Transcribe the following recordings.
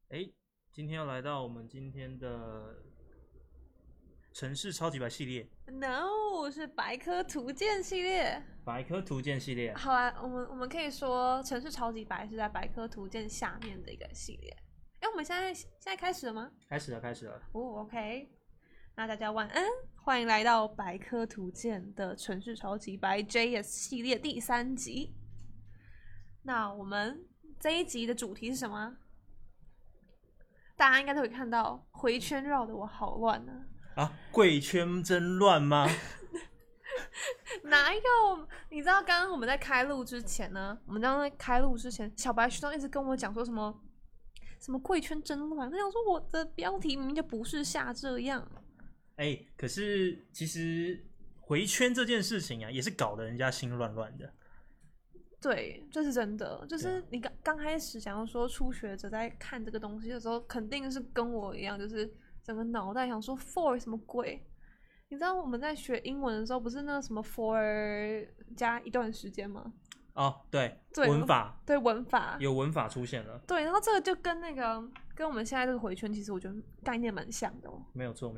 今天要来到我们今天的城市超级白系列 No， 是百科图鉴系列。 百科图鉴系列。 好啊，我们可以说城市超级白是在百科图鉴下面的一个系列。我们现在开始了吗？ 开始了。 OK。那大家晚安，欢迎来到百科图鉴的城市超级白 JS 系列第3集。那我们这一集的主题是什么？大家应该都会看到，回圈绕的我好乱啊！ 贵圈真乱吗？ 哪有？你知道刚刚我们在开录之前呢？小白学长一直跟我讲说什么贵圈真乱。他想说我的标题明明就不是下这样。 可是其实回圈这件事情啊，也是搞得人家心乱乱的。 对，这是真的。就是你刚开始想要说初学者在看这个东西的时候，肯定是跟我一样，就是整个脑袋想说 for 什么鬼？你知道我们在学英文的时候，不是那个什么 for 加一段时间吗？ 对，文法， 对，文法有文法出现了。 对，然后这个就跟我们现在这个回圈，其实我觉得概念蛮像的哦。 没有错。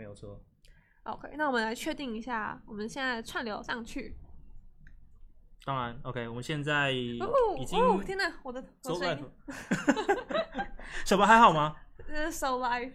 OK， 那我们来确定一下，我们现在串流上去。 当然 ，OK， 我们现在已经天哪，我的声音， 小白还好吗 ？So live。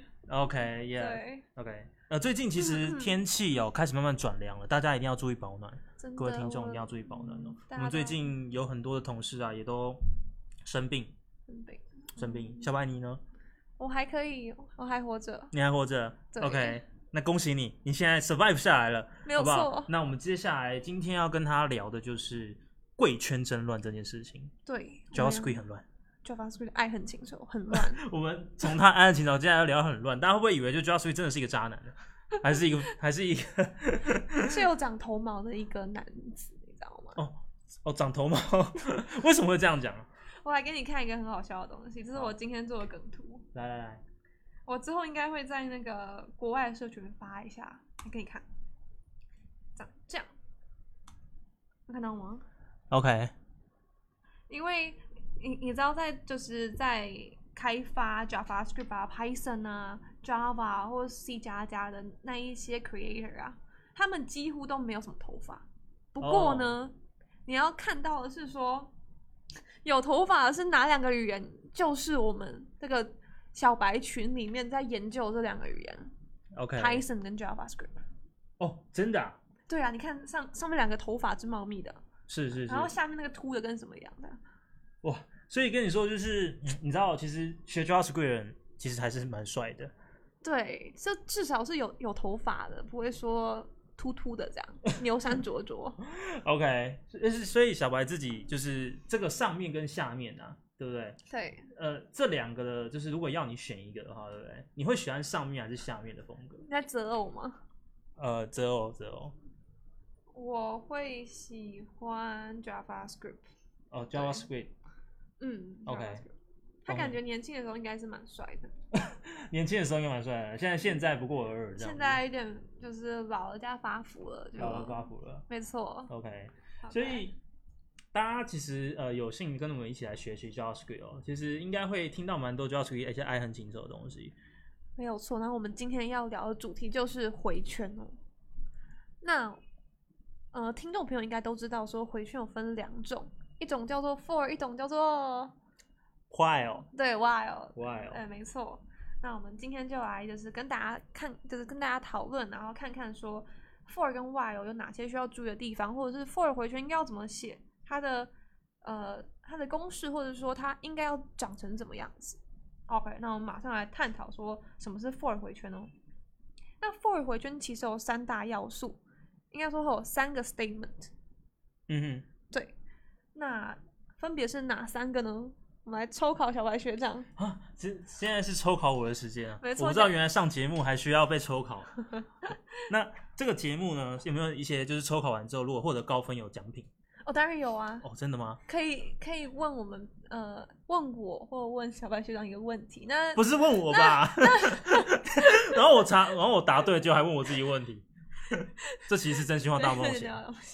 OK， 最近其实天气开始慢慢转凉了，大家一定要注意保暖。各位听众一定要注意保暖哦。我们最近有很多的同事啊，也都生病。小白你呢？ 我还可以，我还活着。 你还活着 ？OK， 那恭喜你，你现在 survive 下来了， 没有错。 好不好？那我们接下来今天要跟他聊的就是贵圈真乱这件事情。 对 ，JavaScript 很乱。 JavaScript 爱恨情仇很乱。 我们从他爱恨情仇，接下来要聊很乱，大家会不会以为就 JavaScript 真的是一个渣男呢？还是一个是有长头毛的一个男子，你知道吗？ 长头毛，为什么会这样讲？ 我来给你看一个很好笑的东西，这是我今天做的梗图。 来， 我之后应该会在那个国外的社群发一下，来给你看。这样，有看到吗 ？OK。 因为你知道在开发 JavaScript 啊、Python 啊、Java 或者 C++ 的那一些 creator 啊，他们几乎都没有什么头发。不过呢，你要看到的是说，有头发的是哪2个语言？就是我们这个小白群里面在研究这2个语言 ，Python 跟 JavaScript。 真的啊？ 对啊，你看上面2个头发之茂密的， 是， 然后下面那个秃的跟什么一样的？ 哇！所以跟你说，就是你知道，其实学 JavaScript 的人其实还是蛮帅的。 对，这至少是有头发的，不会说秃秃的这样，牛山灼灼。 OK， 所以小白自己就是这个上面跟下面啊，对不对？ 对。 这2个的，就是如果要你选一个的话，对不对？你会喜欢上面还是下面的风格？ 你在择偶吗？ 择偶。 我会喜欢 JavaScript。 JavaScript。OK。 他感觉年轻的时候应该是蛮帅的。 年轻的时候应该蛮帅的，现在不过尔尔这样。 现在有点就是老了加发福了，没错。 OK， 所以大家其实有幸跟我们一起来学习 JavaScript 其实应该会听到蛮多 JavaScript 一些爱恨情仇的东西。 没有错，然后我们今天要聊的主题就是回圈哦。那听众朋友应该都知道，说回圈有分2种，一种叫做 for， 一种叫做 while。 对 while。 对， 没错。那我们今天就来就是跟大家讨论，然后看看说 for 跟 while 有哪些需要注意的地方，或者是 for 回圈应该要怎么写，它的公式，或者说它应该要长成怎么样子。OK， 那我们马上来探讨说什么是 for 回圈哦。那 for 回圈其实有3大要素，应该说会有3个 statement。对，那分别是哪3个呢？我们来抽考小白学长啊！现在是抽考我的时间啊！ 没错， 我不知道原来上节目还需要被抽考。那这个节目呢，有没有一些就是抽考完之后，如果获得高分有奖品？ 当然有啊！ 真的吗？ 可以问我们问我或问小白学长一个问题。那不是问我吧？然后我答对，就还问我自己问题。这其实是真心话大冒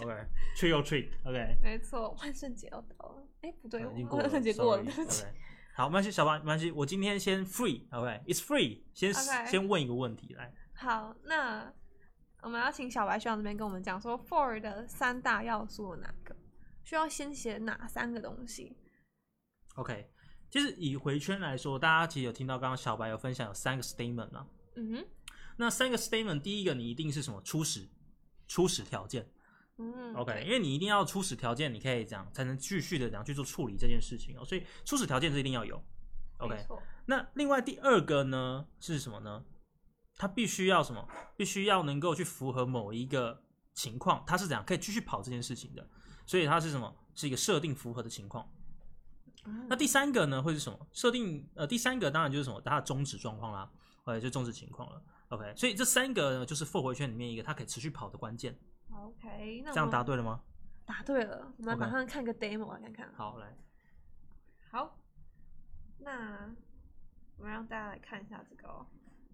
险。OK，trick or treat。OK， 没错，万圣节要到了。不对， 已经过了， 万圣节过了，对不起。 好，没关系，小白没关系，我今天先 free，OK，it's free， 先问一个问题来。 好，那我们要请小白学长这边跟我们讲说 for 的3大要素有哪个？需要先写哪3个东西 ？OK， 其实以回圈来说，大家其实有听到刚刚小白有分享有3个 statement 嘛？那3个 statement， 第一个你一定是什么？初始条件。OK， 因为你一定要初始条件，你可以这样才能继续的这样去做处理这件事情所以初始条件是一定要有。OK， 那另外第2个呢是什么呢？它必须要什么？必须要能够去符合某一个情况，它是怎样可以继续跑这件事情的，所以它是什么？是一个设定符合的情况。那第3个呢会是什么？设定第3个当然就是什么？它的终止状况啦，或者就终止情况了。OK， 所以这3个呢就是 for 回圈里面一个它可以持续跑的关键。 OK， 那这样答对了吗？ 答对了，我们马上看个 demo 来看看。 好，来， 好，那我们让大家来看一下这个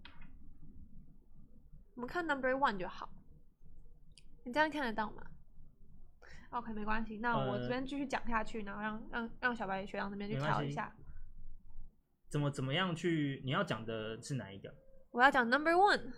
我们看 number 1 就好。你这样看得到吗 ？OK， 没关系。那我这边继续讲下去，然后让小白学长这边去调一下。 怎么样去？你要讲的是哪一个？ 我要讲 number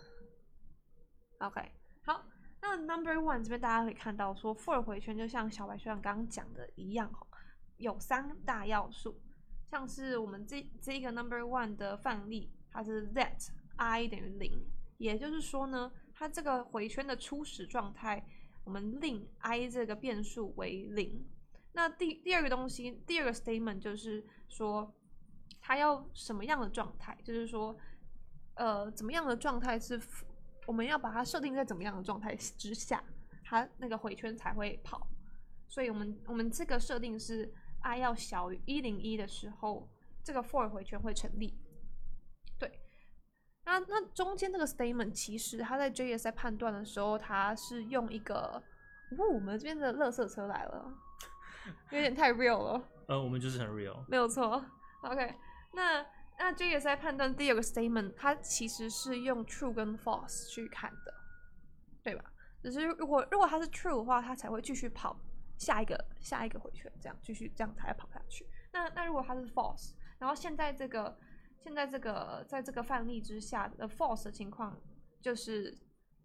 1。OK， 好。那 number 1这边大家可以看到说 for 回圈就像小白学长刚刚讲的一样有3大要素，像是我们这一个 number 1的范例，它是 that I 等于0，也就是说呢，它这个回圈的初始状态，我们令 I 这个变数为0。那第2个东西，第2个 statement 就是说，它要什么样的状态，就是说，怎么样的状态是我们要把它设定在怎么样的状态之下，它那个回圈才会跑。所以我们这个设定是 I 要小于101的时候，这个 for 回圈会成立。对，那中间这个 statement 其实它在 JS 在判断的时候，它是用一个，我们这边的垃圾车来了，有点太 real 了。 我们就是很 real， 没有错。OK， 那JS 在判断第2个 statement， 它其实是用 true 跟 false 去看的，对吧？只是如果它是 true 的话，它才会继续跑下一个回圈，这样继续这样才会跑下去。那如果它是 false， 然后现在这个在这个范例之下的 false 的情况就是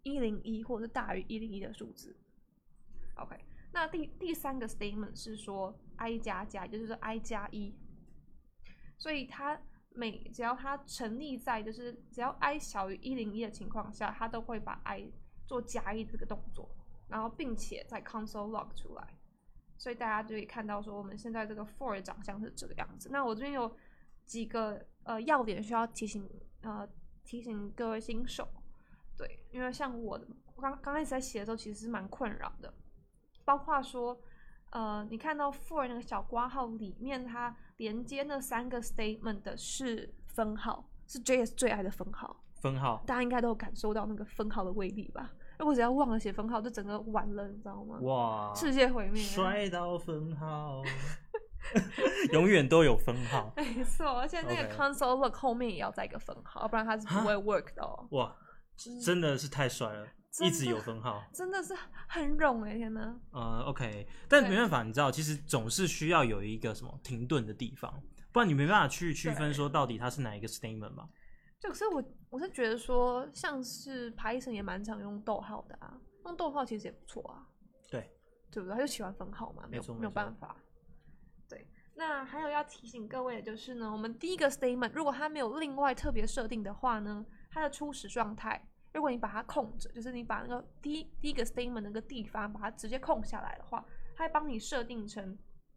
101或者是大于101的数字。OK， 那第3个 statement 是说 I 加加，也就是 I 加1，所以它只要它成立在就是只要 I 小于101的情况下，它都会把 I 做加1这个动作，然后并且在 console log 出来。所以大家就可以看到说我们现在这个 for 的长相是这个样子。那我这边有几个要点需要提醒各位新手，对，因为像我刚开始在写的时候其实是蛮困扰的，包括说你看到 for 那个小括号里面它连接那3个 statement 的是分号，是 JS 最爱的分号。大家应该都有感受到那个分号的威力吧？如果只要忘了写分号，就整个完了，你知道吗？ 哇， 世界毁灭， 摔到分号，永远都有分号。 没错，而且那个 console log 后面也要再一个分号，要不然它是不会 work 的哦。 哇，真的是太帅了，一直有分号， 真的是很冗天哪。 OK， 但没办法，你知道，其实总是需要有一个什么停顿的地方，不然你没办法去区分说到底它是哪一个 statement 嘛。 就是我是觉得说，像是 Python 也蛮常用逗号的啊，用逗号其实也不错啊。对不对？他就喜欢分号嘛，没有办法。对，那还有要提醒各位的就是呢，我们第1个 statement 如果它没有另外特别设定的话呢，它的初始状态，如果你把它空着，就是你把那个第一个 statement 那个地方把它直接空下来的话，它会帮你设定成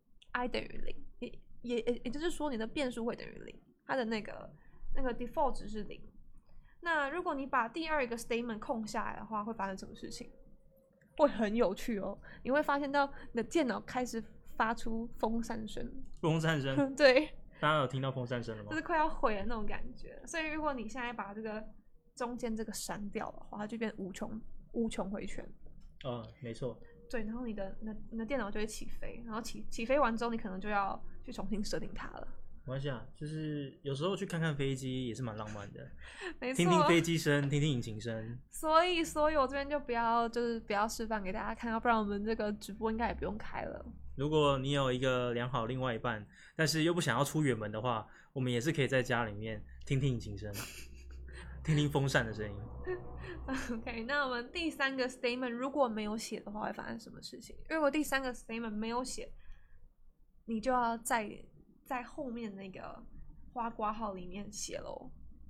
I 等于0，也就是说你的变数会等于0，它的那个 default 值是0。那如果你把第2个 statement 空下来的话，会发生什么事情？会很有趣哦，你会发现到你的电脑开始发出风扇声。对， 大家有听到风扇声了吗？ 就是快要毁的那种感觉。所以如果你现在把这个中间这个删掉的话，它就变无穷回圈。 没错。 对，然后你的电脑就会起飞，然后起飞完之后，你可能就要去重新设定它了。 没关系啊，就是有时候去看看飞机也是蛮浪漫的， 没错， 听听飞机声，听听引擎声。 所以我这边就不要示范给大家看，要不然我们这个直播应该也不用开了。 如果你有一个良好另外一半，但是又不想要出远门的话，我们也是可以在家里面听听引擎声，听听风扇的声音。 OK， 那我们第3个 statement 如果没有写的话，会发生什么事情？如果第3个 statement 没有写，你就要在后面那个花括号里面写咯。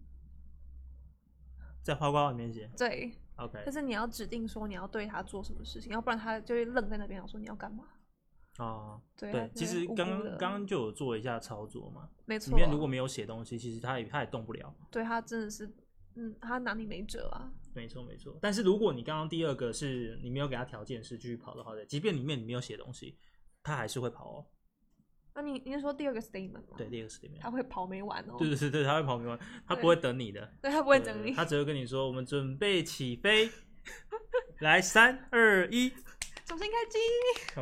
在花括号里面写？ 对。 OK， 就是你要指定说你要对他做什么事情，要不然他就会愣在那边，想说你要干嘛。 对，其实刚刚就有做一下操作嘛， 没错。 里面如果没有写东西，其实他也动不了。 对，他真的是，他拿你没辙啊。 没错。但是如果你刚刚第2个是你没有给他条件是继续跑的话，即便里面你没有写东西，他还是会跑哦。 那你是说第2个 statement 吗？ 对，第2个 statement， 他会跑没完哦。 对，他会跑没完，他不会等你的。 对，他不会等你， 他只会跟你说：“我们准备起飞，来3、2、1， 重新开机。”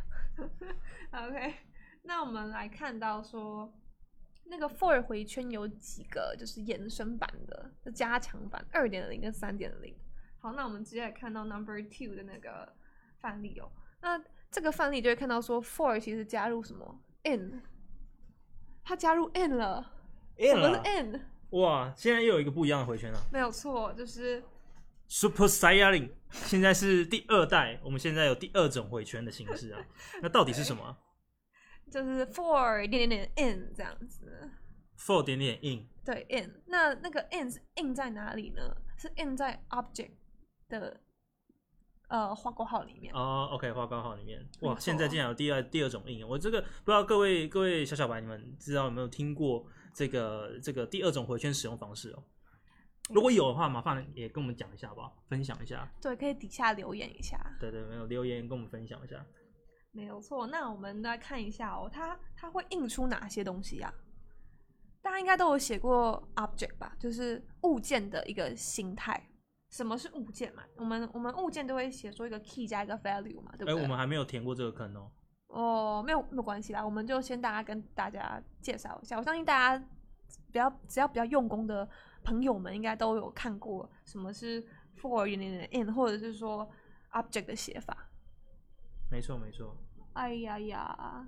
OK， 那我们来看到说，那个 for 回圈有几个就是延伸版的，就加强版 2.0 跟 3.0。好，那我们直接来看到 number 2的那个范例哦。那这个范例就会看到说 for 其实加入什么 in， 它加入 in 了。什么是 in？ 哇，现在又有一个不一样的回圈了。 没有错，就是 Super Saiyaling， 现在是第2代，我们现在有第2种回圈的形式啊。那到底是什么？ 就是 for in 这样子。 for in。 对 in， 那个 in 是 in 在哪里呢？是 in 在 object 的花括号里面。 OK， 花括号里面。哇，现在竟然有第二种 in， 我这个不知道各位小白你们知道有没有听过这个第2种回圈使用方式哦？如果有的话，麻烦也跟我们讲一下好不好？分享一下。 对，可以底下留言一下。 对，没有留言跟我们分享一下。 没有错，那我们来看一下哦，它会印出哪些东西啊？大家应该都有写过 object 吧，就是物件的一个形态。什么是物件嘛？我们物件都会写说一个 key 加一个 value 嘛，对不对？ 我们还没有填过这个坑哦。 没有关系啦，我们就先跟大家介绍一下。我相信大家只要比较用功的朋友们，应该都有看过什么是 for in 或者是说 object 的写法。 没错。 哎呀，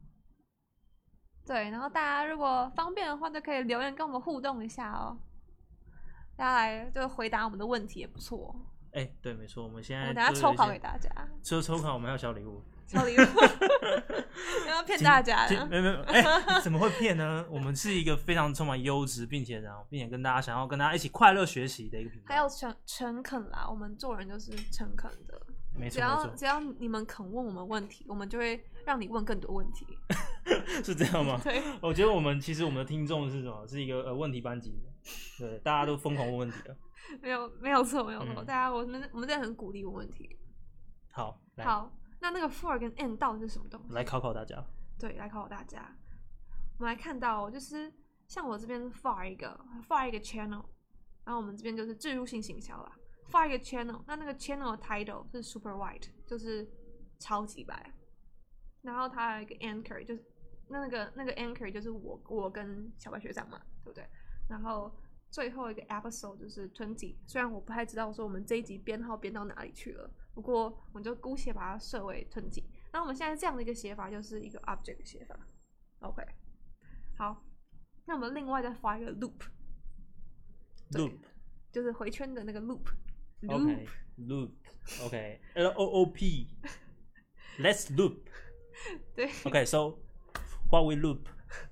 对，然后大家如果方便的话，就可以留言跟我们互动一下哦。大家来就回答我们的问题也不错。 对，没错，我们现在等下抽考给大家。 除了抽考，我们还有小礼物。 小礼物，要骗大家的。 没有，怎么会骗呢？我们是一个非常充满优质，并且跟大家想要跟大家一起快乐学习的一个频道。 还有诚恳啦，我们做人就是诚恳的。 没错， 只要你们肯问我们问题，我们就会让你问更多问题。 是这样吗？ 对， 我觉得其实我们的听众是什么？是一个问题班级的，对，大家都疯狂问问题了。 没有错，大家我们真的很鼓励问问题。 好， 那个 for 跟 in 到底是什么东西？ 来考考大家。对， 来考考大家。我们来看到，就是像我这边 for 一个 channel， 然后我们这边就是置入性行销啦。for 一个 channel， 那个 channel 的 title 是 super wide， 就是超级白。然后它有一个 anchor， 就是那个 anchor 就是我跟小白学长嘛，对不对？然后最后一个 episode 就是20，虽然我不太知道说我们这一集编号编到哪里去了，不过我们就姑且把它设为20。那我们现在这样的一个写法就是一个 object 的写法。OK， 好，那我们另外再画一个 loop， 就是回圈的那个 loop。OK，Loop。OK，LOOP。Let's loop。 对。 OK，so what we loop？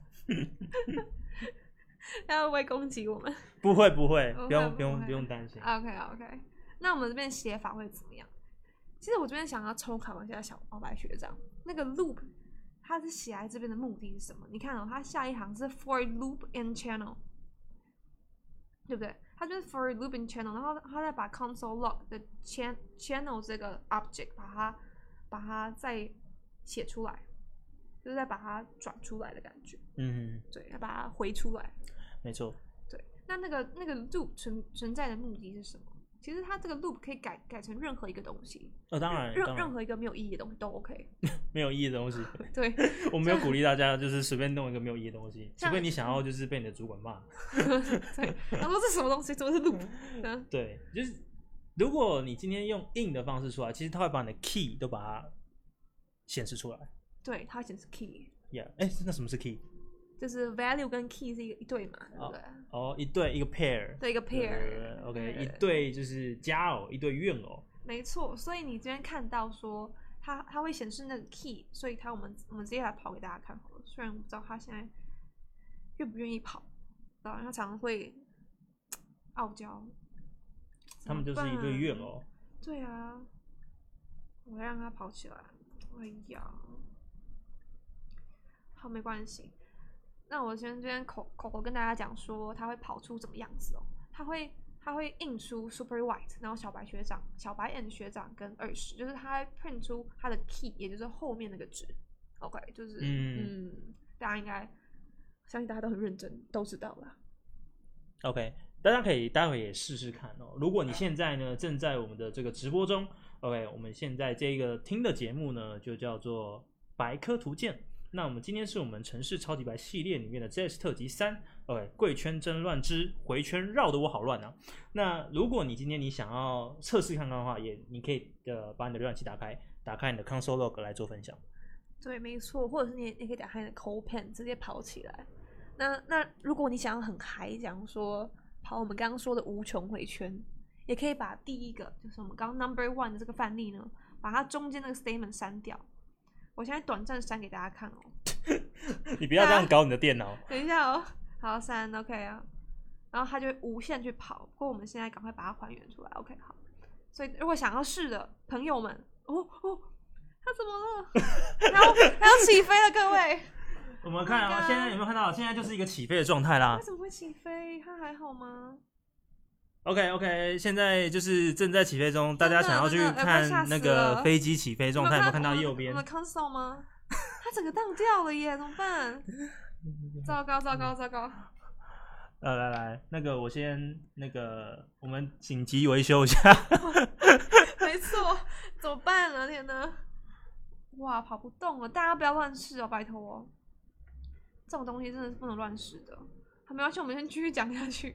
他会不会攻击我们？ 不会，不用担心。 OK， 那我们这边写法会怎么样？其实我这边想要抽考一下小白学长，那个 loop 它是写在这边的目的是什么？你看它下一行是 for loop in channel， 对不对？它就是 for loop in channel， 然后它再把 console log 的 channel 这个 object 把它再写出来，就是再把它转出来的感觉。对，要把它回出来。 没错。 对，那个 loop 存在的目的是什么？其实它这个 loop 可以改成任何一个东西。 当然， 任何一个没有意义的东西都 OK。没有意义的东西。 对， 我没有鼓励大家就是随便弄一个没有意义的东西，除非你想要就是被你的主管骂。 对，他说这什么东西？怎么是 loop？ 对，就是如果你今天用 in 的方式出来，其实它会把你的 key 都把它显示出来。 对，它会显示 key。 那什么是 key？ 就是 value 跟 key 是一对嘛，对不对？ 一对一个 pair。 对，一个 pair。 OK， 一对就是佳偶，一对怨偶。 没错，所以你这边看到说它会显示那个 key， 所以我们直接来跑给大家看好了。虽然我不知道他现在愿不愿意跑，然后他常常会傲娇。 他们就是一对怨偶。 对啊，我要让他跑起来。哎呀，好，没关系。那我先这边口跟大家讲说，它会跑出怎么样子哦？它会印出 super white， 然后小白 and 学长跟20，就是它会 print 出它的 key， 也就是后面那个值。OK， 就是大家应该相信大家都很认真，都知道了。 OK， 大家可以待会也试试看哦。如果你现在呢正在我们的这个直播中 ，OK， 我们现在这个听的节目呢就叫做白科图鉴。那我们今天是我们城市超级白系列里面的 JS 特辑3 ，OK， 贵圈真乱之回圈绕得我好乱啊。那如果你今天你想要测试看看的话，你可以把你的浏览器打开你的 console log 来做分享。 对，没错，或者是你可以打开你的 CodePen 直接跑起来。那如果你想要很嗨，讲说跑我们刚刚说的无穷回圈，也可以把第一个就是我们刚刚 No.1 的这个范例呢，把它中间那个 statement 删掉。我现在短暂删给大家看哦。 你不要这样搞你的电脑。 等一下哦，好，删 OK 啊，然后它就会无限去跑。不过我们现在赶快把它还原出来 ，OK 好。所以如果想要试的朋友们，它怎么了？它要起飞了，各位。 我们看现在有没有看到？现在就是一个起飞的状态啦。 为什么会起飞？它还好吗 ？OK， 现在就是正在起飞中，大家想要去看那个飞机起飞状态，有没有看到右边？ 我们 console 吗？它整个当掉了耶，怎么办？糟糕！ 来，那个我先我们紧急维修一下。 没错，怎么办呢？天哪！哇，跑不动了，大家不要乱试哦，拜托哦。这种东西真的是不能乱试的。好，没关系，我们先继续讲下去。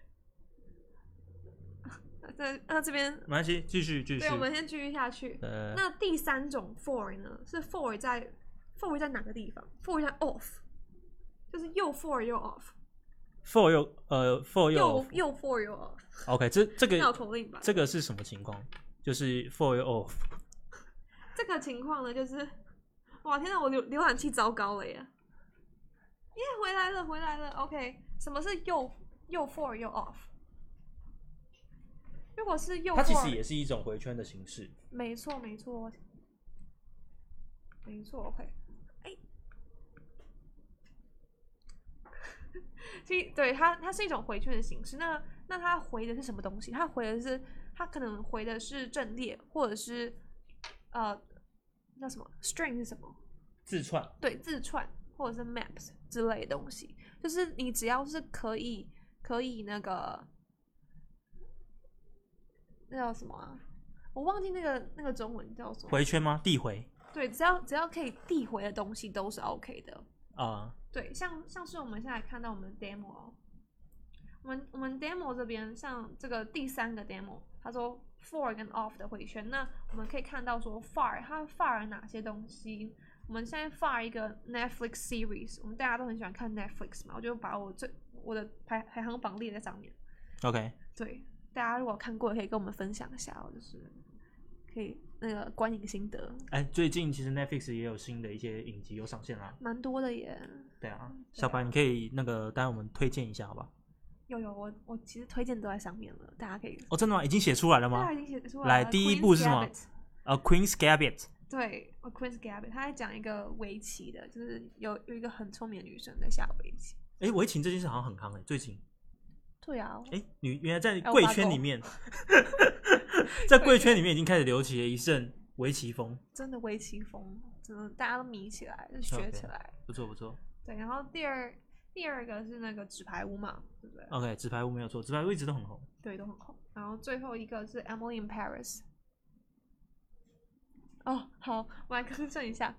这边没关系，继续。 对，我们先继续下去。那第三种 for 呢？是 for 在哪个地方 ？for 在 off， 就是又 for 又 off。for 又 for 又 for 又 off。 OK， 这个绕口令吧。 这个是什么情况？就是 for 又 off。 这个情况呢，就是哇，天哪，我浏览器糟糕了耶！回来了。OK， 什么是又 for 又 off？如果是右， 它其实也是一种回圈的形式。 没错。OK， 对，它是一种回圈的形式。那它回的是什么东西？它可能回的是阵列，或者是叫什么 string 是什么？ 字串。对， 字串或者是 maps 之类的东西，就是你只要是可以那个。那叫什么啊？我忘记那个中文叫什么？ 回圈吗？递回。 对，只要可以递回的东西都是 OK 的啊。 对，像是我们现在看到我们的 demo， 我们 demo 这边像这个第3个 demo， 他说 for 跟 off 的回圈，那我们可以看到说 far 它 far 哪些东西？我们现在 far 一个 Netflix series， 我们大家都很喜欢看 Netflix 嘛，我就把我的排行榜列在上面。 OK。 对。大家如果看过，可以跟我们分享一下哦，就是可以那个观影心得。 最近其实 Netflix 也有新的一些影集有上线啦， 蛮多的耶。 对啊，小白你可以待会我们推荐一下好吧？ 有，我其实推荐都在上面了，大家可以。 真的吗？已经写出来了吗？ 对，已经写出来了。 来，第一部是什么？Queen's Gambit。 对 ，Queen's Gambit， 他在讲一个围棋的，就是有一个很聪明的女生在下围棋。 围棋这件事好像很夯最近。 对啊， 原来在贵圈里面，在贵圈里面已经开始流起了一阵围棋风。真的围棋风，真的大家都迷起来，就学起来。不错。对，然后第二个是那个纸牌屋嘛，对不对 ？OK， 纸牌屋没有错，纸牌屋一直都很红。 对，都很红。然后最后一个是 Emily in Paris。好，我来更正一下。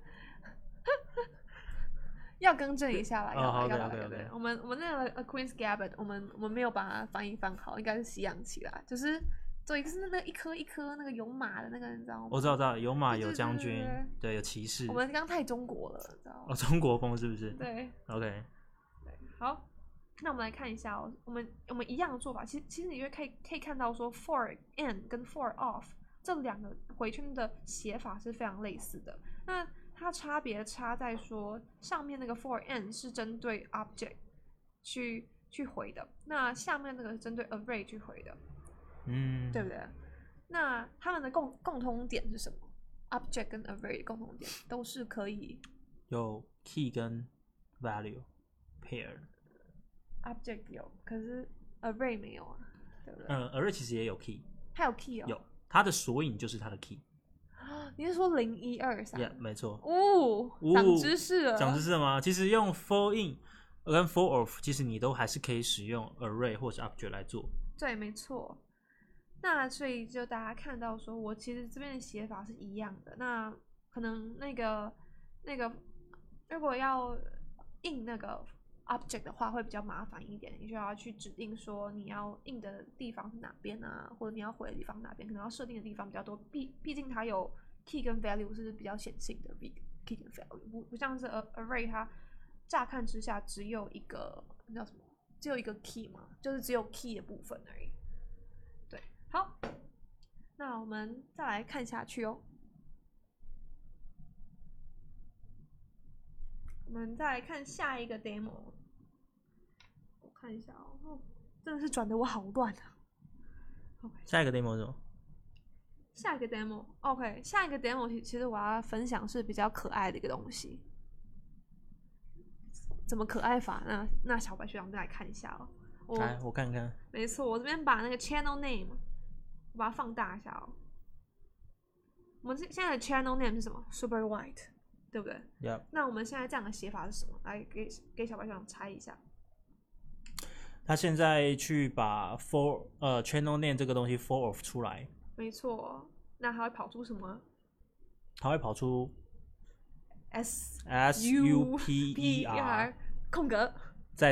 要更正一下啦，要。我们那个 Queen's Gambit， 我们没有把它翻译翻好，应该是西洋棋啦。就是对，就是那一颗一颗那个有马的那个，你知道吗？ 我知道，有马有将军，对，有骑士。 我们刚太中国了，知道吗？ 中国风是不是？ 对 ，OK， 对，好，那我们来看一下哦，我们一样的做法，其实你可以看到说 for in 跟 for off 这两个回圈的写法是非常类似的。那它差别差在说上面那个 for in 是针对 object 去回的，那下面那个是针对 array 去回的，对不对？那他们的共同点是什么 ？object 跟 array 的共同点都是可以有 key 跟 value pair。object 有，可是 array 没有啊，对不对 ？array 其实也有 key， 它有 key 哦， 有，它的索引就是它的 key。 你是说0、1、2、3？ Yeah， 没错。 长知识了。 长知识了吗？其实用 for in 跟 for off， 其实你都还是可以使用 array 或是 object 来做。 对，没错。那所以就大家看到说，我其实这边的写法是一样的。那可能那个，如果要印那个 object 的话，会比较麻烦一点。你就要去指定说你要印的地方是哪边啊，或者你要回的地方哪边，可能要设定的地方比较多。毕竟它有 key 跟 value 是比较显性的 key 跟 value， 不像是 array 它乍看之下只有一个叫什么，只有一个 key 嘛，就是只有 key 的部分而已。对，好，那我们再来看下去哦。我们再来看下一个 demo， 我看一下哦，真的是转的我好乱啊。 下一个 demo 是什么？ 下一个 demo，OK， 下一个 demo 其实我要分享是比较可爱的一个东西。怎么可爱法？那小白学长再来看一下哦。 来，我看看。 没错，我这边把那个 channel name， 我把它放大一下哦。我们现在的 channel name 是什么 ？Super White， 对不对？ Yep。 那我们现在这样的写法是什么？来给小白学长猜一下。 他现在去把 channel name 这个东西 for off 出来。 没错，那它会跑出什么？ 它会跑出 SUPER 空格， 在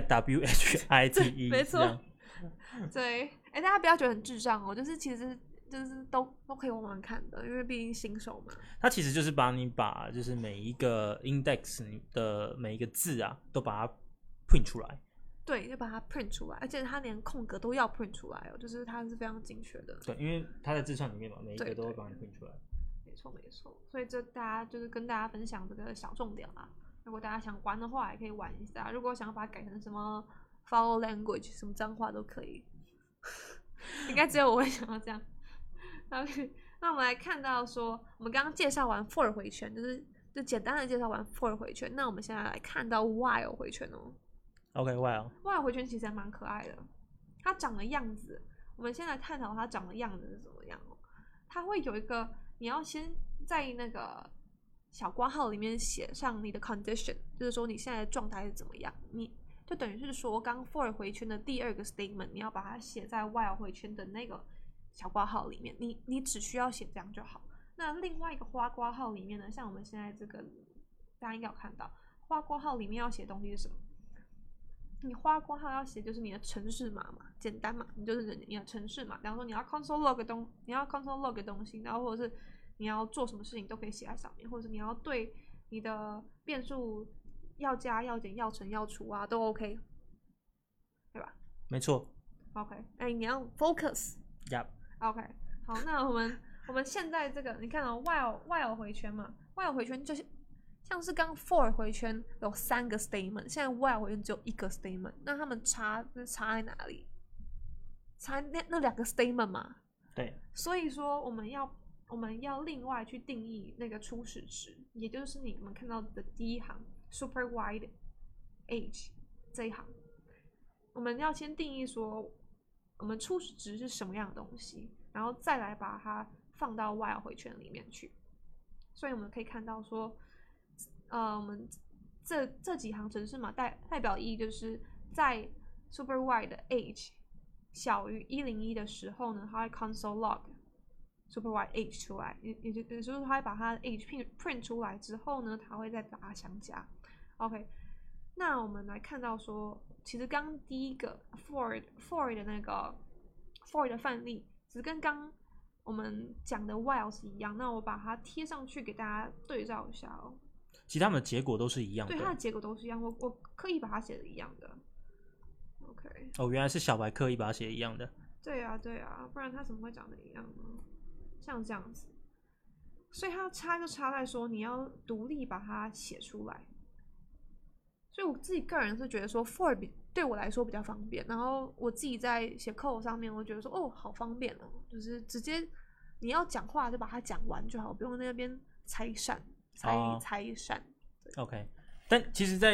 WHITE 没错。对，大家不要觉得很智障哦，就是其实就是都可以玩玩看的，因为毕竟新手嘛。 它其实就是把就是每一个 index 的每一个字啊，都把它 print 出来。 对，就把它 print 出来，而且它连空格都要 print 出来哦，就是它是非常精确的。 对，因为它在字串里面嘛，每一个都会帮你 print 出来。 没错没错，所以这大家就是跟大家分享这个小重点啦。如果大家想玩的话，也可以玩一下。如果想把它改成什么 follow language 什么脏话都可以，应该只有我会想要这样。OK， 那我们来看到说，我们刚刚介绍完 for 回圈，就简单的介绍完 for 回圈，那我们现在来看到 while 回圈哦。 OK，while 回圈其实还蛮可爱的，它长的样子，我们先来探讨它长的样子是怎么样哦。它会有一个，你要先在那个小括号里面写上你的 condition， 就是说你现在的状态是怎么样，你就等于是说刚 for 回圈的第二个 statement， 你要把它写在 while 回圈的那个小括号里面，你只需要写这样就好。那另外一个花括号里面呢，像我们现在这个，大家应该有看到，花括号里面要写的东西是什么？你花括号要写就是你的程式码嘛，简单嘛，你就是你的程式码。比方说你要 console log 的东西，然后或者是你要做什么事情都可以写在上面，或者是你要对你的变数要加、要减、要乘、要除啊，都 OK， 对吧？ 没错。 OK， 你要 focus。OK， 好，那我们现在这个你看到 while 回圈嘛 ，while 回圈就是像是刚 for 回圈有3个 statement， 现在 while 回圈只有1个 statement， 那他们差在哪里？差那2个 statement 嘛。 对。 所以说我们要另外去定义那个初始值，也就是你们看到的第一行 super wide age 这一行，我们要先定义说我们初始值是什么样的东西，然后再来把它放到 while 回圈里面去。所以我们可以看到说，我们这几行程式码代表意义就是在 super wide 的 age 小于101的时候呢，它会 console log super wide age 出来，也就是说它会把它的 age print 出来之后呢，它会再把它相加。OK， 那我们来看到说，其实刚第一个 for 的那个 for 的范例只跟刚我们讲的 while 是一样。那我把它贴上去给大家对照一下哦。 其实他们的结果都是一样的， 对，它的结果都是一样。我刻意把它写的一样的。OK。 哦，原来是小白刻意把它写一样的。 对啊，对啊，不然它怎么会长得一样呢？像这样子。所以它差就差在说你要独立把它写出来。所以我自己个人是觉得说 for 对我来说比较方便，然后我自己在写 code 上面，我觉得说哦好方便哦，就是直接你要讲话就把它讲完就好，不用在那边拆散。 OK， 但其实在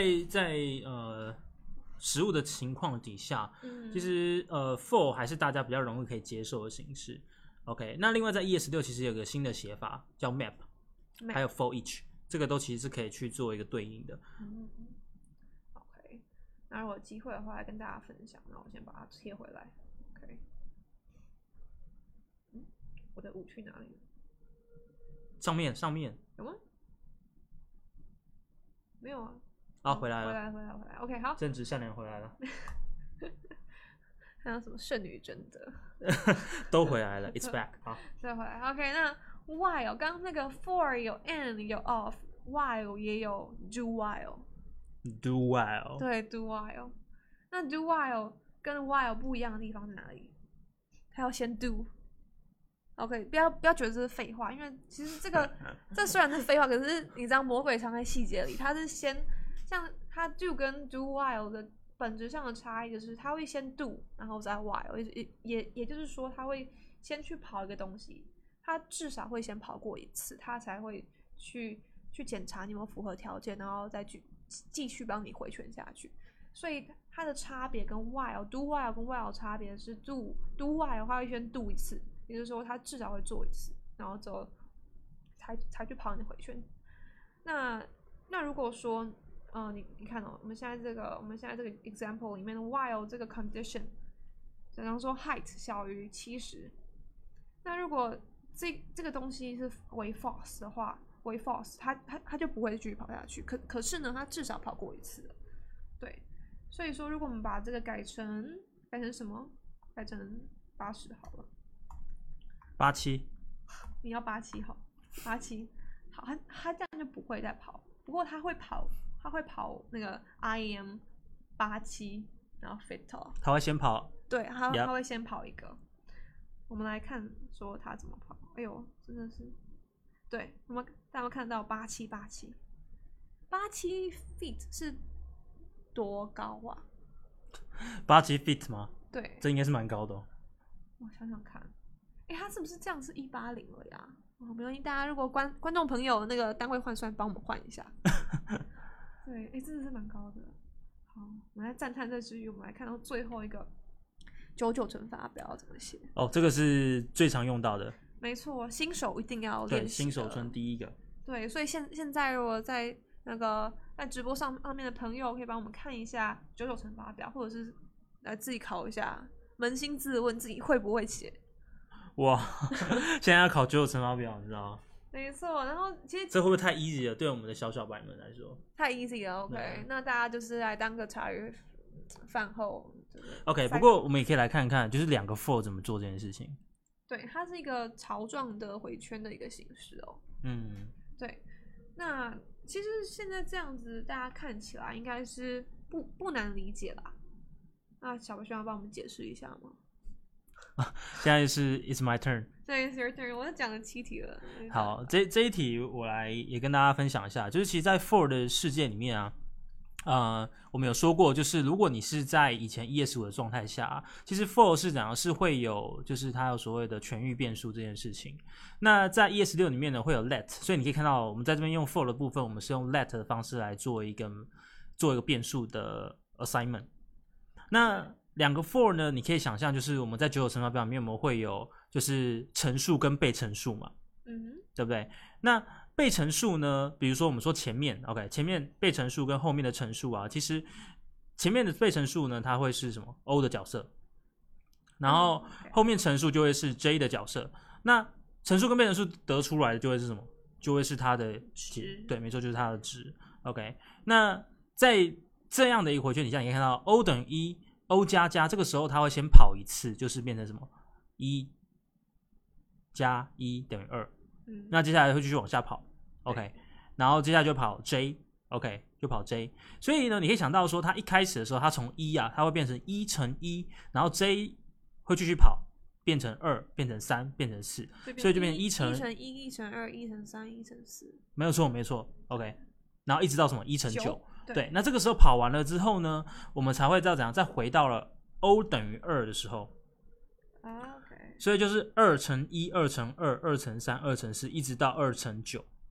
实务的情况底下，其实for 还是大家比较容易可以接受的形式。OK， 那另外在 ES6 其实有个新的写法叫 map， 还有 for each， 这个都其实是可以去做一个对应的。 OK， 那如果有机会的话来跟大家分享，那我先把它贴回来。OK， 我的5去哪里了？ 上面有吗？没有啊。 啊，回来了， 回来。OK， 好， 正直善良回来了。 还有什么剩女贞德都回来了，It's back。好， 再回来。OK， 那 while 刚刚那个 for 有 and 有 of，while 也有 do while。do while。 对 ，do while。那 do while 跟 while 不一样的地方在哪里？它要先 do。OK， 不要觉得这是废话，因为其实这虽然是废话，可是你知道魔鬼藏在细节里，它是先像它 do 跟 do while 的本质上的差异就是它会先 do， 然后再 while， 也就是说它会先去跑一个东西，它至少会先跑过一次，它才会去检查你有没有符合条件，然后再继续帮你回圈下去。所以它的差别跟 while do while 跟 while 差别是 do while 它会先 do 一次，也就是说它至少会做一次，然后之后才去跑你的回圈。那如果说你看哦，我们现在这个 example 里面的 while 这个 condition， 假如说 height 小于70，那如果这个东西是为 false 的话，为 false， 它就不会继续跑下去。可是呢，它至少跑过一次了，对。所以说，如果我们把这个改成什么？改成80好了。 87。 你要87好，87好，它这样就不会再跑。不过它会跑那个 IM 87，然后 fit off。它会先跑。 对，它会先跑一个。我们来看说它怎么跑。哎呦，真的是，对，大家看到87 feet 是多高啊 ？87 feet 吗？ 对， 这应该是蛮高的哦。 我想想看，它是不是这样是180了呀？没关系，大家如果观众朋友那个单位换算，帮我们换一下。对，真的是蛮高的。好，我们来赞叹这之余，我们来看到最后一个99乘法表要怎么写。 哦，这个是最常用到的。 没错，新手一定要练习。 对，新手村第一个。 对，所以现在如果在那个在直播上面的朋友，可以帮我们看一下99乘法表，或者是来自己考一下，扪心自问自己会不会写。 哇，现在要考99乘法表，你知道吗？ 没错，然后其实这会不会太 easy 了？对我们的小白们来说， 太 easy 了。OK， 那大家就是来当个茶余饭后。 OK， 不过我们也可以来看看，就是2个 for 怎么做这件事情。 对，它是一个槽状的回圈的一个形式哦。对。那其实现在这样子，大家看起来应该是不难理解啦。那小白需要帮我们解释一下吗？ 现在是 It's my turn。 对 ，It's your turn。我讲了7题了。 好，这一题我来也跟大家分享一下，就是其实，在 for 的世界里面啊，我们有说过，就是如果你是在以前 ES5 的状态下，其实 for 是怎样是会有，就是它有所谓的全域变数这件事情。那在 ES6 里面呢，会有 let， 所以你可以看到我们在这边用 for 的部分，我们是用 let 的方式来做一个变数的 assignment。那2个 for 呢，你可以想象就是我们在99乘法表里面我们会有就是陈述跟被陈述嘛，对不对？那被陈述呢，比如说我们说前面 OK， 前面被陈述跟后面的陈述啊，其实前面的被陈述呢，它会是什么 O 的角色，然后后面陈述就会是 J 的角色。那陈述跟被陈述得出来的就会是什么？就会是它的值，对，没错，就是它的值。OK， 那在这样的一个回圈底下，你可以看到 O 等于1，O 加加，这个时候它会先跑一次，就是变成什么1 加1等于2，那接下来会继续往下跑 ，OK， 然后接下来就跑 J，OK， 就跑 J， 所以呢，你可以想到说，它一开始的时候，它从1啊，它会变成1乘1，然后 J 会继续跑，变成2，变成3，变成4，所以就变成1乘 1乘1、1乘2、1乘3、1乘4， 没有错，没错 ，OK， 然后一直到什么1乘9， 对， 那这个时候跑完了之后呢，我们才会知道怎样，再回到了 O 等于2的时候。 OK， 所以就是2乘1、2乘2、2乘3、2乘4，一直到2乘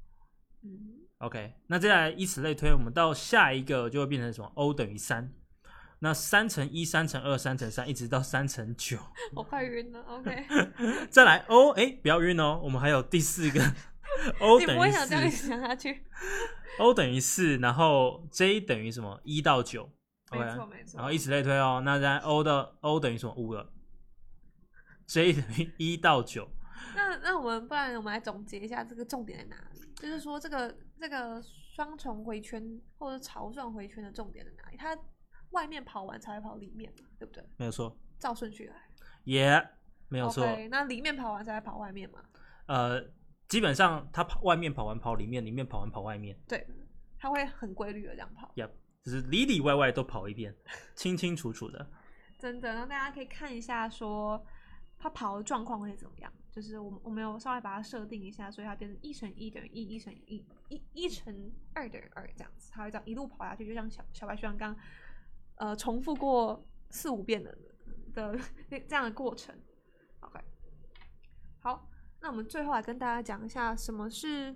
9。OK， 那接下来以此类推，我们到下一个就会变成什么 ？O 等于3。那3乘1、3乘2、3乘3，一直到3乘9。 我快晕了。OK， 再来 O， 不要晕哦，我们还有第4个 O 等于4。 你不会想这样想下去。 O 等于4，然后 J 等于什么？1到9。 没错没错。 然后以此类推哦，那在 O 等于什么？5了。J 等于1到9。 那不然我们来总结一下这个重点在哪里？就是说这个双重回圈或者朝上回圈的重点在哪里？它外面跑完才会跑里面嘛，对不对？ 没有错， 照顺序来。 也没有错。 Okay， 那里面跑完才会跑外面嘛？ 基本上它外面跑完跑里面，里面跑完跑外面。 对，它会很规律的这样跑。 就是里里外外都跑一遍，清清楚楚的。 真的，那大家可以看一下说它跑的状况会怎么样。就是我们有稍微把它设定一下，所以它变成1乘1等于1，1乘1乘2等于2这样子，它会这样一路跑下去，就像小白学长刚重复过4、5遍的这样的过程。OK， 好，那我们最后来跟大家讲一下什么是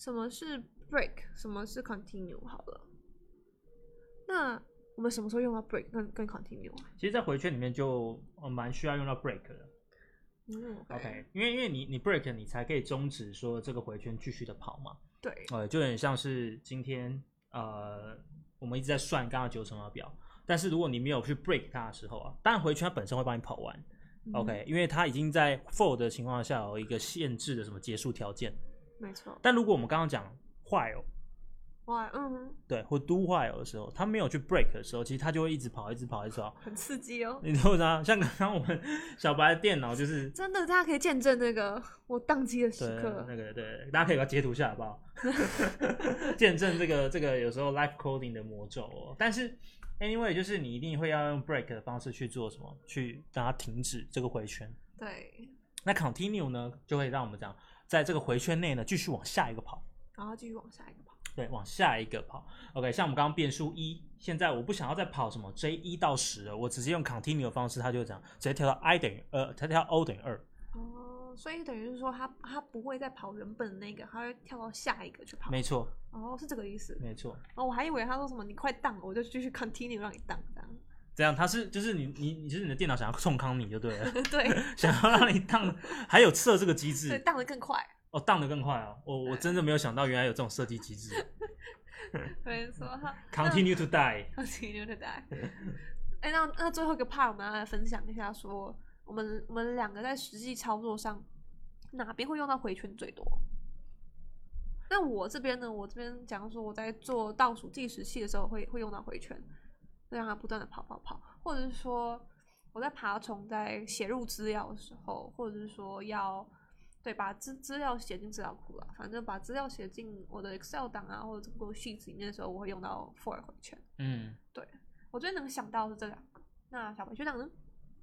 break， 什么是 continue 好了。那我们什么时候用到 break 跟 continue？ 其实，在回圈里面就蛮需要用到 break 的。OK， 因为你 break 你才可以终止说这个回圈继续的跑嘛。 对， 就有点像是今天我们一直在算刚刚9乘2表，但是如果你没有去 break 它的时候啊，当然回圈它本身会帮你跑完。OK， 因为它已经在 for 的情况下有一个限制的什么结束条件。 没错。 但如果我们刚刚讲 while， 对，或 do while 的时候，它没有去 break 的时候，其实它就会一直跑，一直跑，一直跑， 很刺激哦。 你知道吗？像刚刚我们小白的电脑就是真的，大家可以见证那个我宕机的时刻。 对，大家可以把它截图下来，好不好？见证这个有时候 live coding 的魔咒哦。但是 anyway， 就是你一定会要用 break 的方式去做什么，去让它停止这个回圈。 对。 那 continue 呢，就会让我们这样在这个回圈内呢继续往下一个跑， 然后继续往下一个跑。 对，往下一个跑。OK， 像我们刚刚变数1，现在我不想要再跑什么 J 1到10了，我直接用 continue 的方式，它就这样直接跳到 I 等于它跳 O 等于2。 所以等于是说它不会再跑原本的那个，它会跳到下一个去跑。 没错。 是这个意思。 没错。 我还以为他说什么你快当了，我就继续 continue 让你当这样。 这样，就是你就是你的电脑想要冲康你就对了。 对。想要让你当，还有测这个机制。 对，当得更快。 当得更快啊！我真的没有想到原来有这种设计机制。 没错。 Continue to die。 Continue to die。那最后一个 part 我们要来分享一下，说我们两个在实际操作上哪边会用到回圈最多？那我这边呢？我这边讲说我在做倒数计时器的时候会用到回圈，会让它不断的跑，或者是说我在爬虫在写入资料的时候，或者是说要。对，把资料写进资料库啦，反正把资料写进我的 Excel 档啊，或者 Google Sheets 里面的时候，我会用到 for 回圈。对，我最能想到的是这2个。那小白学长呢？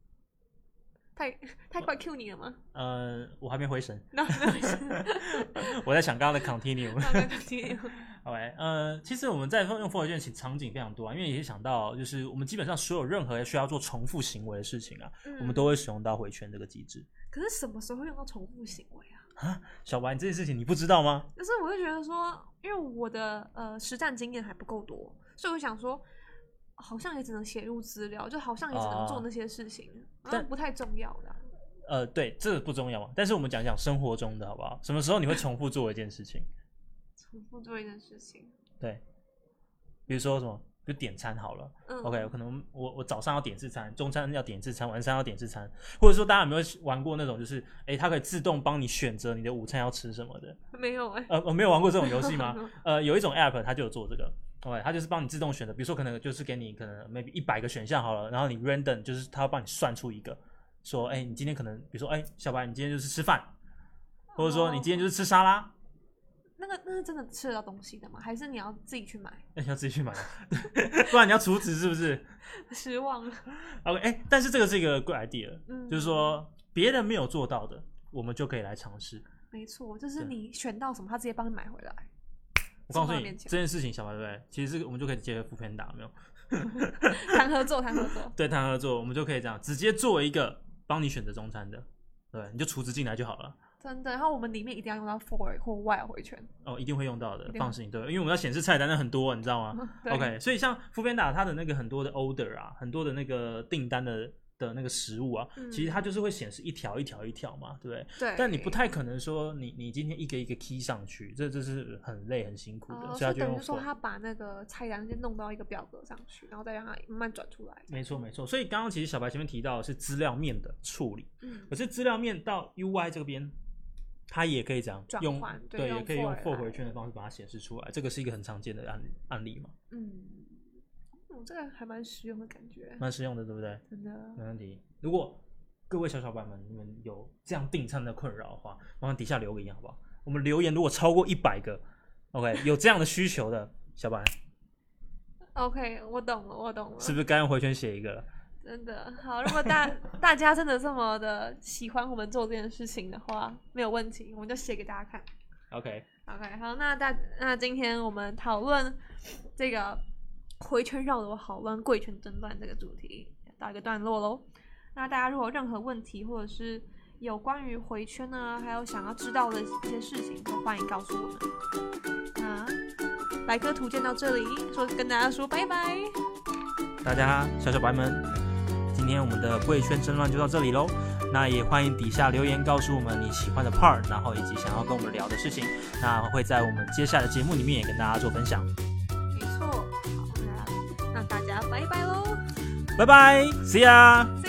太快 Q 你了吗？ 我还没回神。 没回神。 我在想刚刚的 continue。 OK， 其实我们在用 for 回圈场景非常多啊，因为也是想到就是我们基本上所有任何需要做重复行为的事情啊，我们都会使用到回圈这个机制。 可是什么时候会用到重复行为啊？ 小白，这件事情你不知道吗？ 可是我会觉得说，因为我的实战经验还不够多，所以我想说，好像也只能写入资料，就好像也只能做那些事情，但不太重要的。 对，这个不重要嘛。但是我们讲生活中的好不好？什么时候你会重复做一件事情？ 重复做一件事情。 对，比如说什么？就点餐好了。OK， 可能我早上要点1次餐，中餐要点1次餐，晚上要点1次餐，或者说大家有没有玩过那种就是它可以自动帮你选择你的午餐要吃什么的？ 没有我没有玩过这种游戏吗？有一种 app 它就有做这个。OK， 它就是帮你自动选择，比如说可能就是给你可能 maybe 100个选项好了，然后你 random 就是它会帮你算出一个，说你今天可能比如说小白你今天就是吃饭， 或者说你今天就是吃沙拉。 那是真的吃得到东西的吗？还是你要自己去买？ 要自己去买，不然你要储值是不是？ 失望了。 OK， 但是这个是一个 good idea，就是说别人没有做到的，我们就可以来尝试。 没错，就是你选到什么，他直接帮你买回来。 我告诉你这件事情，小白对不对？其实我们就可以结合Foodpanda，有没有？ 谈合作。 对，谈合作，我们就可以这样直接做一个帮你选择中餐的，对，你就储值进来就好了。 真的，然后我们里面一定要用到 for 或 while 回圈。 一定会用到的，放心。对，因为我们要显示菜单的很多，你知道吗？OK， 所以像Foodpanda它的那个很多的 order 啊，很多的那个订单的那个食物啊，其实它就是会显示一条一条一条嘛，对不对？ 对。 但你不太可能说你今天一个一个 key 上去，这是很累很辛苦的，所以它就等于说他把那个菜单先弄到一个表格上去，然后再让它慢慢转出来。 没错。所以刚刚其实小白前面提到的是资料面的处理，可是资料面到 UI 这边。它也可以这样用，对，也可以用 for 回圈的方式把它显示出来，这个是一个很常见的案例嘛。 这个还蛮实用的感觉， 蛮实用的，对不对？ 真的， 没问题。如果各位小白们你们有这样订餐的困扰的话，麻烦底下留个言好不好？我们留言如果超过100个 ，OK， 有这样的需求的小白 ，OK， 我懂了， 是不是该用回圈写一个了？ 真的好，如果大家真的这么的喜欢我们做这件事情的话，没有问题，我们就写给大家看。 OK， 好，那今天我们讨论这个回圈绕的好乱、贵圈争乱这个主题到一个段落咯。那大家如果有任何问题，或者是有关于回圈呢，还有想要知道的一些事情，都欢迎告诉我们。那百科图鉴到这里，跟大家说拜拜。 大家小白们。今天我们的贵圈争乱就到这里咯，那也欢迎底下留言告诉我们你喜欢的 part， 然后以及想要跟我们聊的事情，那会在我们接下来的节目里面也跟大家做分享。 没错，好，那大家拜拜咯， 拜拜 ，See ya。